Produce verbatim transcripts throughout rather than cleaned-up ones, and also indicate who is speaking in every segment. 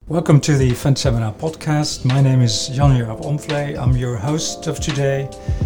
Speaker 1: Welcome to the Fund Seminar podcast. My name is Jan-Jaap Omvlee. I'm your host of today.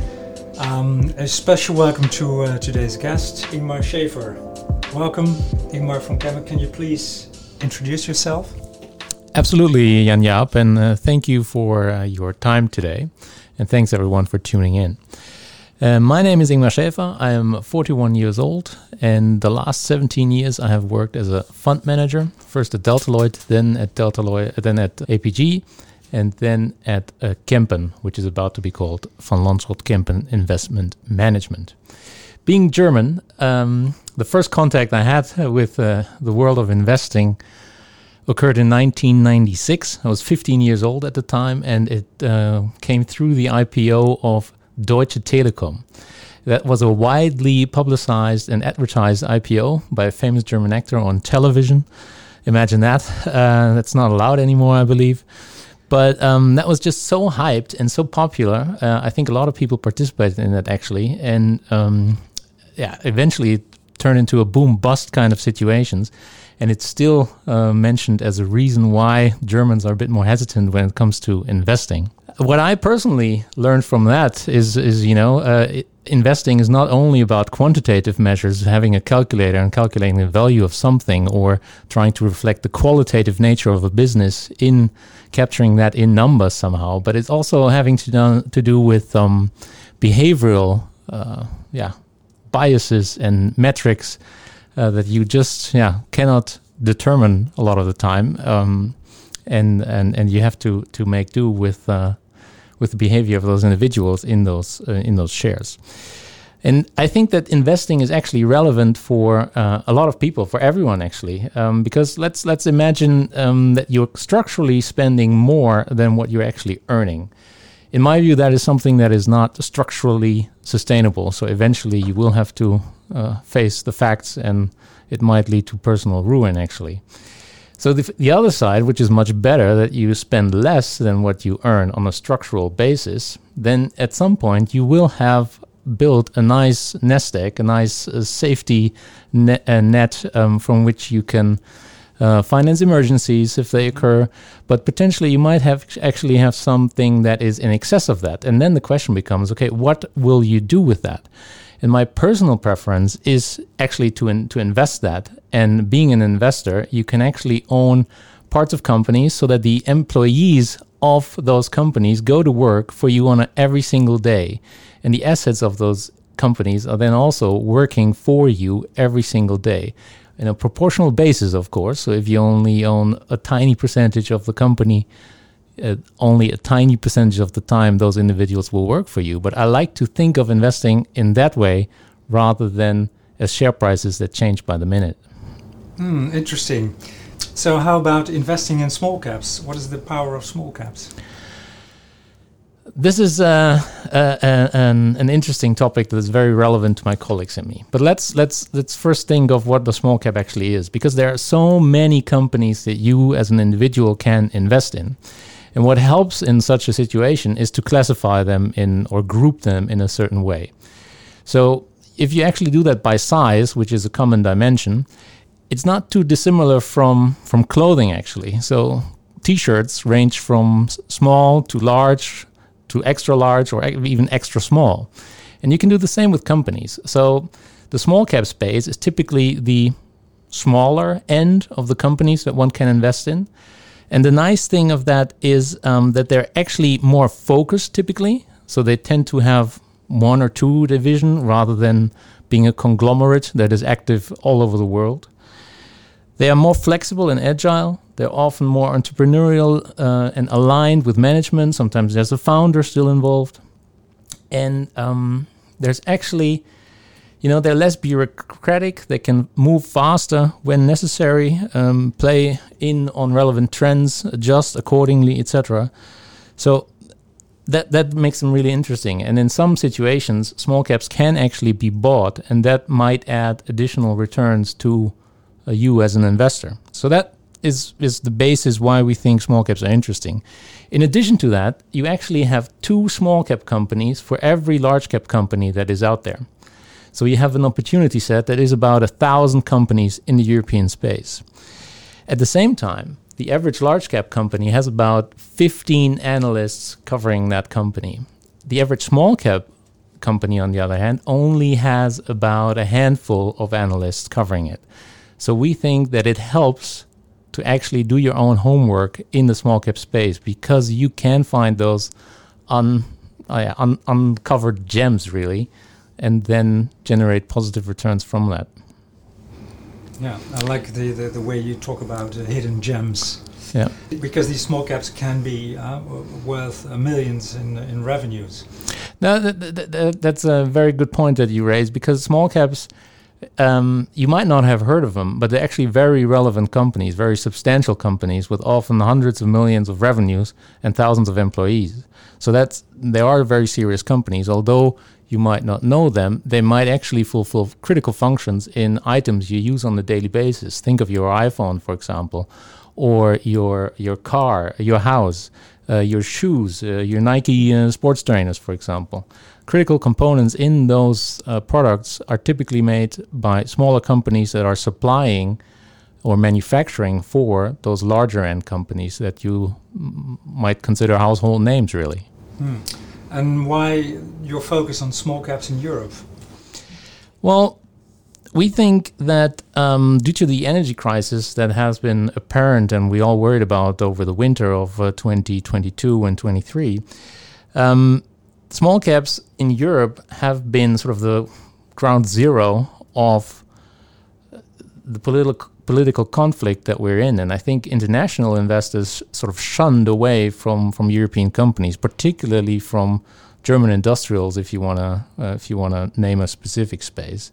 Speaker 1: Um, a special welcome to uh, today's guest, Ingmar Schaefer. Welcome, Ingmar from Kempen. Can you please introduce yourself?
Speaker 2: Absolutely, Jan-Jaap, and uh, thank you for uh, your time today. And thanks everyone for tuning in. Uh, my name is Ingmar Schaefer. I am forty-one years old, and the last seventeen years I have worked as a fund manager, first at Delta Lloyd, then at Delta Lloyd, then at A P G, and then at uh, Kempen, which is about to be called Van Lanschot Kempen Investment Management. Being German, um, the first contact I had with uh, the world of investing occurred in nineteen ninety-six. I was fifteen years old at the time, and it uh, came through the I P O of Deutsche Telekom. That was a widely publicized and advertised I P O by a famous German actor on television. Imagine that. Uh, that's not allowed anymore, I believe. But um, that was just so hyped and so popular. Uh, I think a lot of people participated in that, actually. And um, yeah, eventually it turned into a boom-bust kind of situations. And it's still uh, mentioned as a reason why Germans are a bit more hesitant when it comes to investing. What I personally learned from that is, is you know, uh, it, investing is not only about quantitative measures, having a calculator and calculating the value of something, or trying to reflect the qualitative nature of a business in capturing that in numbers somehow, but it's also having to do, to do with um, behavioral uh, yeah, biases and metrics uh, that you just yeah cannot determine a lot of the time, um, and, and, and you have to, to make do with uh, with the behavior of those individuals in those uh, in those shares. And I think that investing is actually relevant for uh, a lot of people, for everyone actually, um, because let's let's imagine um, that you're structurally spending more than what you're actually earning. In my view, that is something that is not structurally sustainable. So eventually you will have to uh, face the facts, and it might lead to personal ruin actually. So the, the other side, which is much better, that you spend less than what you earn on a structural basis, then at some point you will have built a nice nest egg, a nice uh, safety net, uh, net um, from which you can uh, finance emergencies if they occur. But potentially you might have actually have something that is in excess of that. And then the question becomes, okay, what will you do with that? And my personal preference is actually to in, to invest that. And being an investor, you can actually own parts of companies so that the employees of those companies go to work for you on a, every single day. And the assets of those companies are then also working for you every single day. In a proportional basis, of course. So if you only own a tiny percentage of the company, Uh, only a tiny percentage of the time those individuals will work for you. But I like to think of investing in that way rather than as share prices that change by the minute.
Speaker 1: Hmm, interesting. So how about investing in small caps? What is the power of small caps?
Speaker 2: This is uh, uh, uh, an, an interesting topic that is very relevant to my colleagues and me. But let's let's let's first think of what the small cap actually is, because there are so many companies that you as an individual can invest in. And what helps in such a situation is to classify them in or group them in a certain way. So if you actually do that by size, which is a common dimension, it's not too dissimilar from, from clothing actually. So t-shirts range from small to large to extra large or even extra small. And you can do the same with companies. So the small cap space is typically the smaller end of the companies that one can invest in. And the nice thing of that is um, that they're actually more focused typically. So they tend to have one or two division rather than being a conglomerate that is active all over the world. They are more flexible and agile. They're often more entrepreneurial uh, and aligned with management. Sometimes there's a founder still involved. And um, there's actually, you know, they're less bureaucratic. They can move faster when necessary, um, play in on relevant trends, adjust accordingly, et cetera. So that that makes them really interesting. And in some situations, small caps can actually be bought, and that might add additional returns to uh, you as an investor. So that is is the basis why we think small caps are interesting. In addition to that, you actually have two small cap companies for every large cap company that is out there. So you have an opportunity set that is about a thousand companies in the European space. At the same time, the average large cap company has about fifteen analysts covering that company. The average small cap company, on the other hand, only has about a handful of analysts covering it. So we think that it helps to actually do your own homework in the small cap space, because you can find those un, uh, un, uncovered gems, really, and then generate positive returns from that.
Speaker 1: Yeah, I like the, the, the way you talk about uh, hidden gems.
Speaker 2: Yeah,
Speaker 1: because these small caps can be uh, worth uh, millions in in revenues.
Speaker 2: No, that, that, that, that's a very good point that you raised, because small caps, um, you might not have heard of them, but they're actually very relevant companies, very substantial companies with often hundreds of millions of revenues and thousands of employees. So that's they are very serious companies. Although you might not know them, they might actually fulfill critical functions in items you use on a daily basis. Think of your iPhone, for example, or your your car, your house, uh, your shoes, uh, your Nike uh, sports trainers, for example. Critical components in those uh, products are typically made by smaller companies that are supplying or manufacturing for those larger end companies that you m- might consider household names, really.
Speaker 1: Hmm. And why your focus on small caps in Europe?
Speaker 2: Well, we think that um, due to the energy crisis that has been apparent and we all worried about over the winter of uh, twenty twenty-two and twenty-three, um, small caps in Europe have been sort of the ground zero of the political political conflict that we're in. And I think international investors sort of shunned away from, from European companies, particularly from German industrials, if you want to uh, if you want to name a specific space.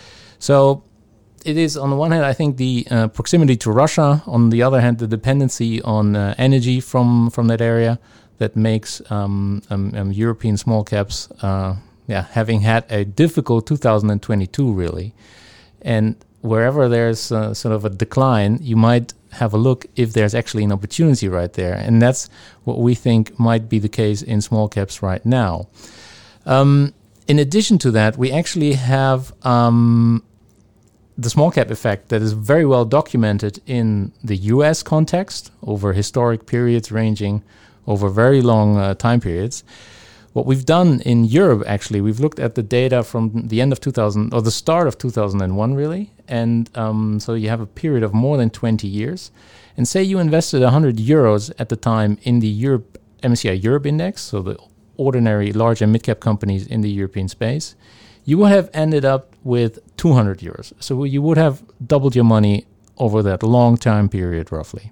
Speaker 2: So it is, on the one hand, I think the uh, proximity to Russia, on the other hand, the dependency on uh, energy from, from that area that makes um, um, um, European small caps, uh, yeah, having had a difficult two thousand twenty-two, really. And wherever there's uh, sort of a decline, you might have a look if there's actually an opportunity right there. And that's what we think might be the case in small caps right now. Um, in addition to that, we actually have um, the small cap effect that is very well documented in the U S context over historic periods ranging over very long uh, time periods. What we've done in Europe, actually, we've looked at the data from the end of two thousand, or the start of two thousand one, really. And um, so you have a period of more than twenty years. And say you invested one hundred euros at the time in the Europe M S C I Europe Index, so the ordinary large and mid-cap companies in the European space, you would have ended up with two hundred euros. So you would have doubled your money over that long time period, roughly.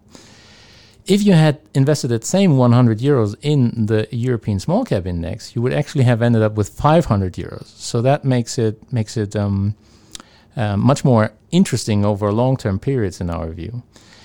Speaker 2: If you had invested that same one hundred euros in the European small cap index, you would actually have ended up with five hundred euros. So that makes it makes it um, uh, much more interesting over long-term periods in our view.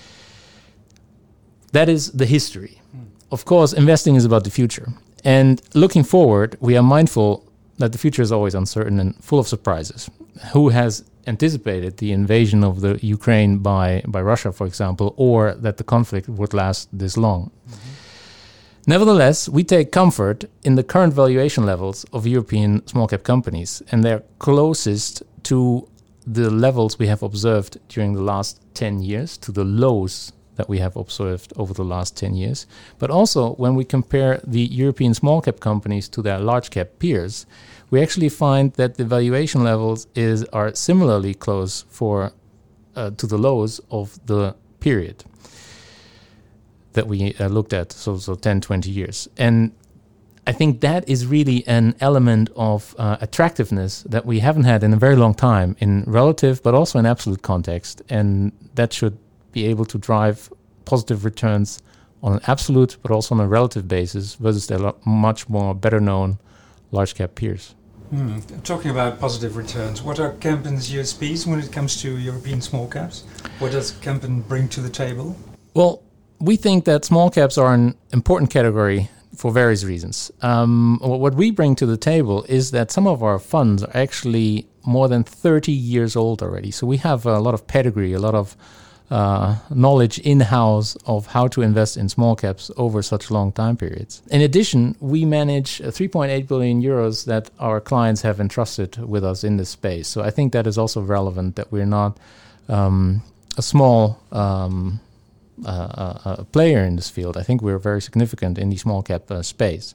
Speaker 2: That is the history. Mm. Of course, investing is about the future. And looking forward, we are mindful that the future is always uncertain and full of surprises. Who has anticipated the invasion of the Ukraine by, by Russia, for example, or that the conflict would last this long? Mm-hmm. Nevertheless, we take comfort in the current valuation levels of European small-cap companies, and they're closest to the levels we have observed during the last ten years, to the lows that we have observed over the last ten years. But also, when we compare the European small-cap companies to their large-cap peers, we actually find that the valuation levels is are similarly close for uh, to the lows of the period that we uh, looked at, so so ten, twenty years. And I think that is really an element of uh, attractiveness that we haven't had in a very long time in relative, but also in absolute context. And that should be able to drive positive returns on an absolute, but also on a relative basis versus their much more better known large cap peers.
Speaker 1: Hmm. Talking about positive returns, what are Kempen's U S Ps when it comes to European small caps? What does Kempen bring to the table?
Speaker 2: Well, we think that small caps are an important category for various reasons. Um, what we bring to the table is that some of our funds are actually more than thirty years old already. So we have a lot of pedigree, a lot of Uh, knowledge in-house of how to invest in small caps over such long time periods. In addition, we manage three point eight billion euros that our clients have entrusted with us in this space. So I think that is also relevant, that we're not um, a small um, uh, a player in this field. I think we're very significant in the small cap uh, space.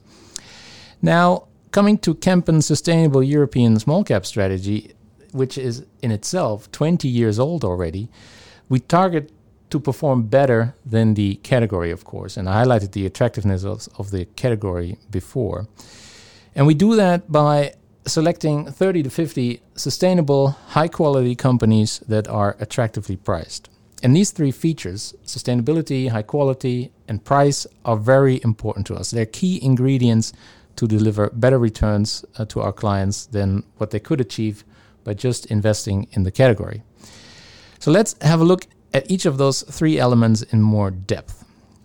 Speaker 2: Now, coming to Kempen's Sustainable European Small Cap Strategy, which is in itself twenty years old already, we target to perform better than the category, of course. And I highlighted the attractiveness of, of the category before. And we do that by selecting thirty to fifty sustainable, high-quality companies that are attractively priced. And these three features, sustainability, high quality, and price, are very important to us. They're key ingredients to deliver better returns uh, to our clients than what they could achieve by just investing in the category. So let's have a look at each of those three elements in more depth.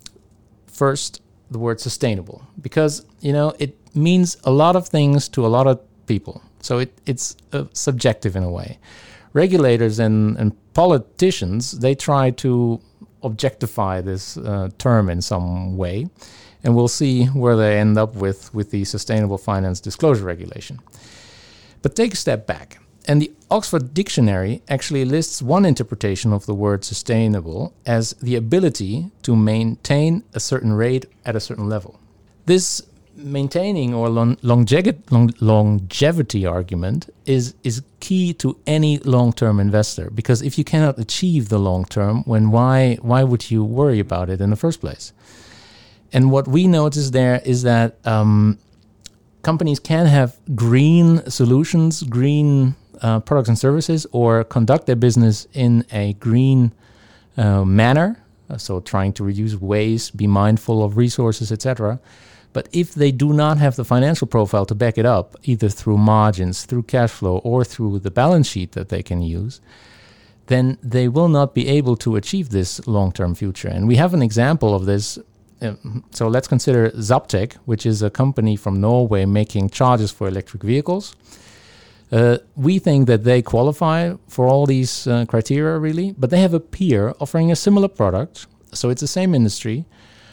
Speaker 2: First, the word sustainable, because, you know, it means a lot of things to a lot of people. So it, it's uh, subjective in a way. Regulators and, and politicians, they try to objectify this uh, term in some way, and we'll see where they end up with, with the Sustainable Finance Disclosure Regulation. But take a step back, and the Oxford Dictionary actually lists one interpretation of the word sustainable as the ability to maintain a certain rate at a certain level. This maintaining or long, longevity, long, longevity argument is is key to any long-term investor, because if you cannot achieve the long-term, when why why would you worry about it in the first place? And what we notice there is that um, companies can have green solutions, green uh, products and services, or conduct their business in a green uh, manner, so trying to reduce waste, be mindful of resources, et cetera. But if they do not have the financial profile to back it up, either through margins, through cash flow, or through the balance sheet that they can use, then they will not be able to achieve this long-term future. And we have an example of this. So let's consider Zaptec, which is a company from Norway making chargers for electric vehicles. Uh, we think that they qualify for all these uh, criteria, really, but they have a peer offering a similar product. So it's the same industry.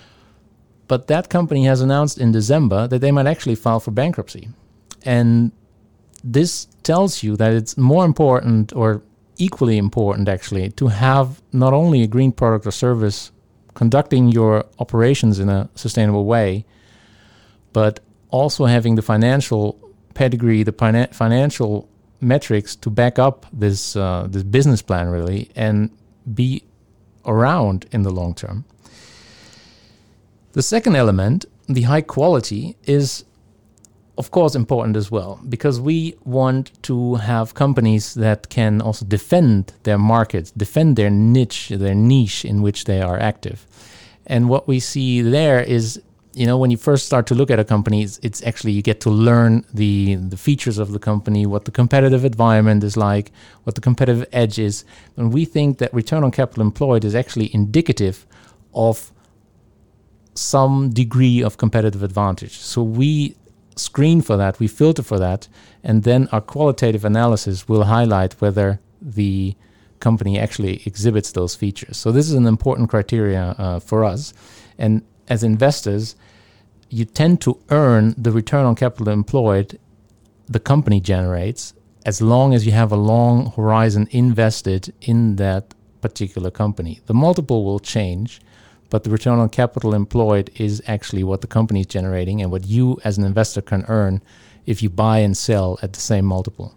Speaker 2: But that company has announced in December that they might actually file for bankruptcy. And this tells you that it's more important, or equally important actually, to have not only a green product or service conducting your operations in a sustainable way, but also having the financial pedigree, the fina- financial metrics to back up this uh, this business plan, really, and be around in the long term. The second element, the high quality, is of course important as well, because we want to have companies that can also defend their markets, defend their niche, their niche in which they are active. And what we see there is, you know, when you first start to look at a company, it's, it's actually you get to learn the, the features of the company, what the competitive environment is like, what the competitive edge is. And we think that return on capital employed is actually indicative of some degree of competitive advantage. So we screen for that, we filter for that, and then our qualitative analysis will highlight whether the company actually exhibits those features. So this is an important criteria uh, for us. And as investors, you tend to earn the return on capital employed the company generates as long as you have a long horizon invested in that particular company. The multiple will change, but the return on capital employed is actually what the company is generating and what you as an investor can earn if you buy and sell at the same multiple.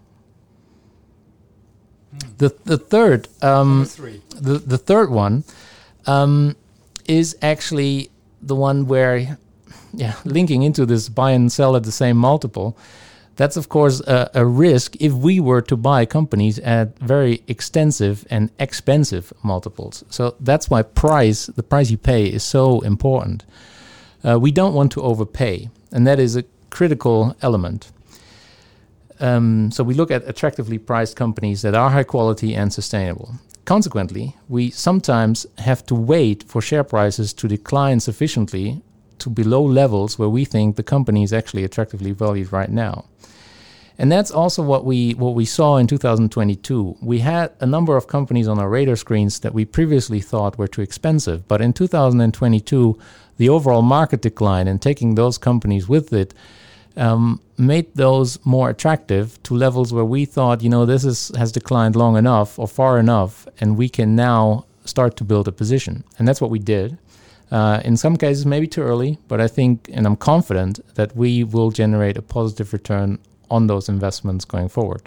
Speaker 2: Mm. The the third um, the the third one um, is actually the one where, yeah, linking into this buy and sell at the same multiple. That's, of course, a, a risk if we were to buy companies at very extensive and expensive multiples. So that's why price, the price you pay, is so important. Uh, we don't want to overpay, and that is a critical element. Um, so we look at attractively priced companies that are high quality and sustainable. Consequently, we sometimes have to wait for share prices to decline sufficiently to below levels where we think the company is actually attractively valued right now. And that's also what we what we saw in two thousand twenty-two. We had a number of companies on our radar screens that we previously thought were too expensive. But in two thousand twenty-two, the overall market decline and taking those companies with it um, made those more attractive to levels where we thought, you know, this is has declined long enough or far enough, and we can now start to build a position. And that's what we did. Uh, in some cases, maybe too early, but I think, and I'm confident, that we will generate a positive return on those investments going forward.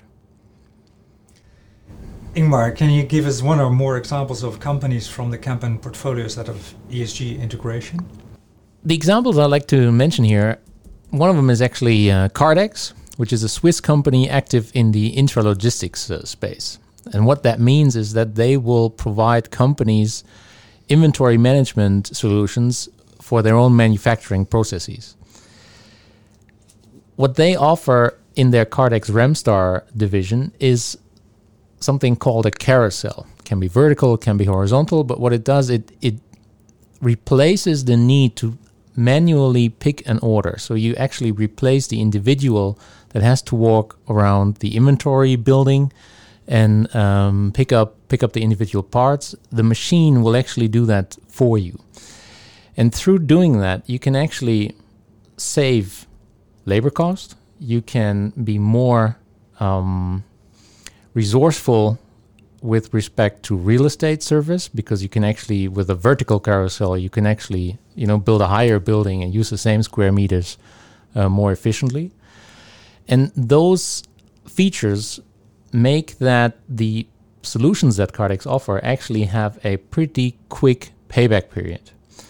Speaker 1: Ingmar, can you give us one or more examples of companies from the Kempen portfolios that have E S G integration?
Speaker 2: The examples I'd like to mention here, one of them is actually uh, Kardex, which is a Swiss company active in the intralogistics uh, space. And what that means is that they will provide companies inventory management solutions for their own manufacturing processes. What they offer in their Kardex Remstar division is something called a carousel. It can be vertical, it can be horizontal, but what it does, it it replaces the need to manually pick an order. So you actually replace the individual that has to walk around the inventory building and um, pick up pick up the individual parts. The machine will actually do that for you. And through doing that, you can actually save labor cost. You can be more um, resourceful with respect to real estate service, because you can actually, with a vertical carousel, you can actually, you know, build a higher building and use the same square meters uh, more efficiently. And those features make that the solutions that Kardex offer actually have a pretty quick payback period.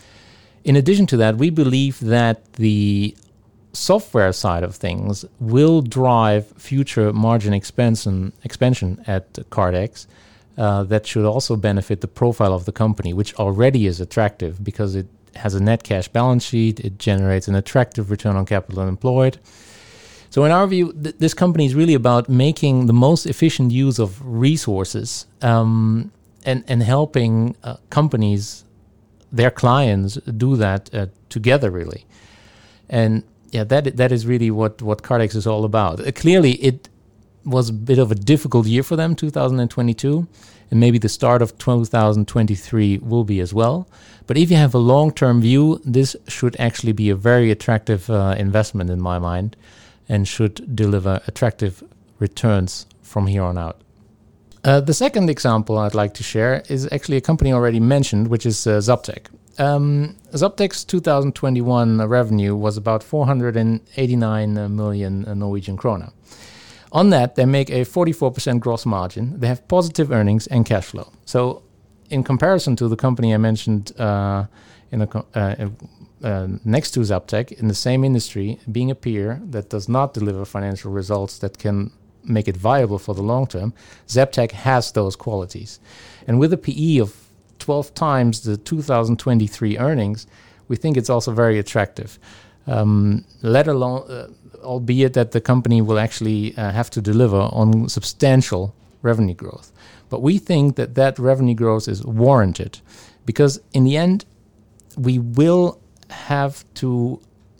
Speaker 2: In addition to that, we believe that the software side of things will drive future margin expansion expansion at Kardex. Uh, that should also benefit the profile of the company, which already is attractive because it has a net cash balance sheet, it generates an attractive return on capital employed. So in our view, th- this company is really about making the most efficient use of resources um, and, and helping uh, companies, their clients, do that uh, together, really. And yeah, that that is really what, what Kardex is all about. Uh, clearly, it was a bit of a difficult year for them, two thousand twenty-two, and maybe the start of two thousand twenty-three will be as well. But if you have a long-term view, this should actually be a very attractive uh, investment in my mind, and should deliver attractive returns from here on out. Uh, the second example I'd like to share is actually a company already mentioned, which is uh, Zaptec. Um, Zaptec's two thousand twenty-one revenue was about four hundred eighty-nine million Norwegian krona. On that, they make a forty-four percent gross margin. They have positive earnings and cash flow. So in comparison to the company I mentioned uh, in a, uh, uh, next to Zaptec, in the same industry, being a peer that does not deliver financial results that can make it viable for the long term, Zaptec has those qualities. And with a P E of twelve times the two thousand twenty-three earnings, we think it's also very attractive. Um, let alone, uh, albeit that the company will actually uh, have to deliver on substantial revenue growth. But we think that that revenue growth is warranted, because in the end, we will have to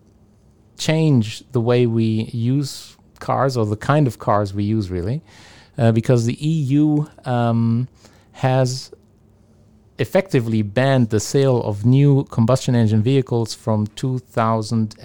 Speaker 2: change the way we use cars, or the kind of cars we use, really, uh, because the E U um, has effectively banned the sale of new combustion engine vehicles from two thousand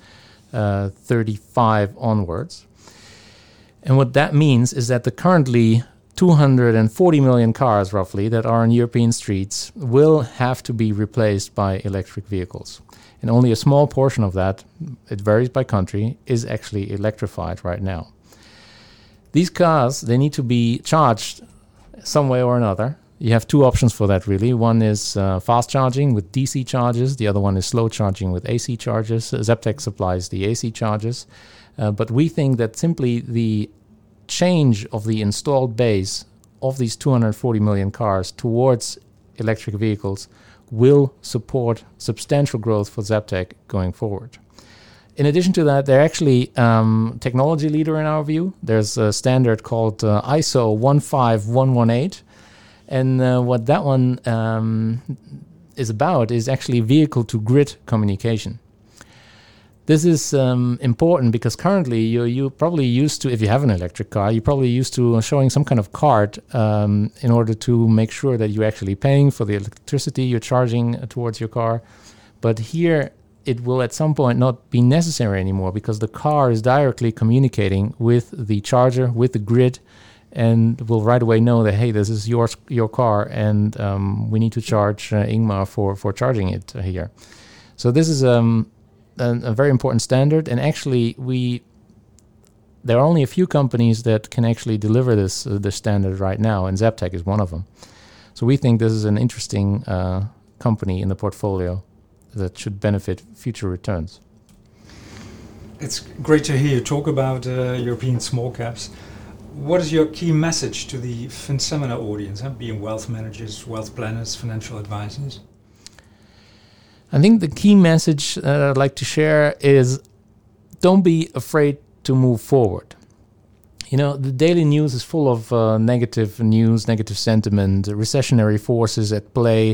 Speaker 2: thirty-five onwards. And what that means is that the currently two hundred forty million cars, roughly, that are on European streets will have to be replaced by electric vehicles. And only a small portion of that, it varies by country, is actually electrified right now. These cars, they need to be charged some way or another. You have two options for that, really. One is uh, fast charging with D C charges. The other one is slow charging with A C charges. Zaptec supplies the A C charges. Uh, but we think that simply the change of the installed base of these two hundred forty million cars towards electric vehicles will support substantial growth for Zaptec going forward. In addition to that, they're actually um, technology leader in our view. There's a standard called uh, I S O one five one one eight. And uh, what that one um, is about is actually vehicle-to-grid communication. This is um, important because currently you're, you're probably used to, if you have an electric car, you're probably used to showing some kind of card um, in order to make sure that you're actually paying for the electricity you're charging towards your car. But here it will at some point not be necessary anymore, because the car is directly communicating with the charger, with the grid, and will right away know that, hey, this is your your car, and um, we need to charge uh, Ingmar for, for charging it uh, here. So this is um, a, a very important standard, and actually we there are only a few companies that can actually deliver this uh, this standard right now, and Zaptec is one of them. So we think this is an interesting uh, company in the portfolio that should benefit future returns.
Speaker 1: It's great to hear you talk about uh, European small caps. What is your key message to the FinSeminar audience, huh? Being wealth managers, wealth planners, financial advisors?
Speaker 2: I think the key message that I'd like to share is don't be afraid to move forward. You know, the daily news is full of uh, negative news, negative sentiment, recessionary forces at play.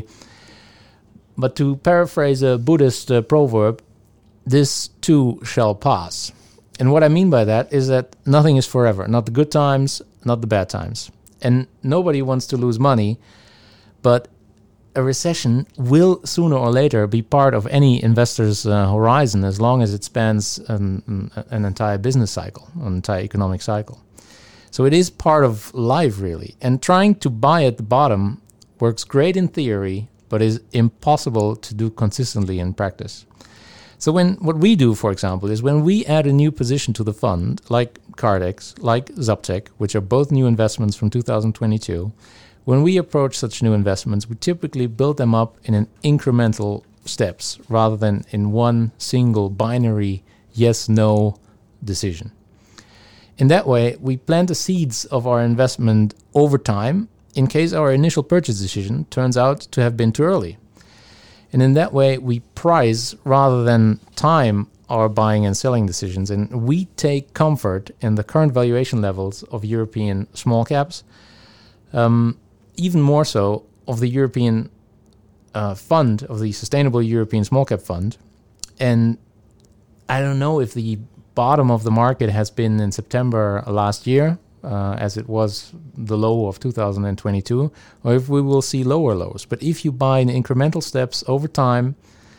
Speaker 2: But to paraphrase a Buddhist uh, proverb, this too shall pass. And what I mean by that is that nothing is forever, not the good times, not the bad times. And nobody wants to lose money, but a recession will sooner or later be part of any investor's uh, horizon as long as it spans an, an entire business cycle, an entire economic cycle. So it is part of life, really. And trying to buy at the bottom works great in theory, but is impossible to do consistently in practice. So when what we do, for example, is when we add a new position to the fund, like Cardex, like Zaptec, which are both new investments from two thousand twenty-two, when we approach such new investments, we typically build them up in an incremental steps rather than in one single binary yes-no decision. In that way, we plant the seeds of our investment over time in case our initial purchase decision turns out to have been too early. And in that way, we price rather than time our buying and selling decisions, and we take comfort in the current valuation levels of European small caps, um, even more so of the European uh, fund, of the Sustainable European Small Cap Fund. And I don't know if the bottom of the market has been in September last year, uh, as it was the low of two thousand twenty-two, or if we will see lower lows. But if you buy in incremental steps over time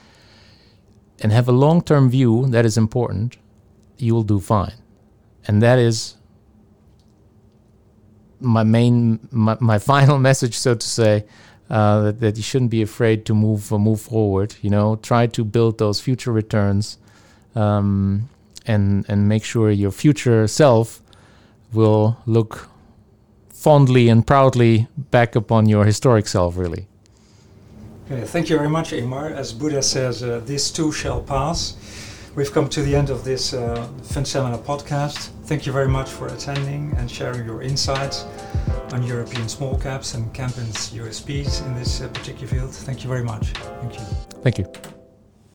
Speaker 2: and have a long-term view, that is important, you will do fine. And that is my main, my, my final message, so to say, uh, that, that you shouldn't be afraid to move uh, move forward. You know, try to build those future returns, um, and and make sure your future self will look fondly and proudly back upon your historic self, really.
Speaker 1: Okay, thank you very much, Ingmar. As Buddha says, uh, this too shall pass. We've come to the end of this uh, FinSeminar podcast. Thank you very much for attending and sharing your insights on European small caps and Kempen's U S Ps in this uh, particular field. Thank you very much. Thank you.
Speaker 2: Thank you.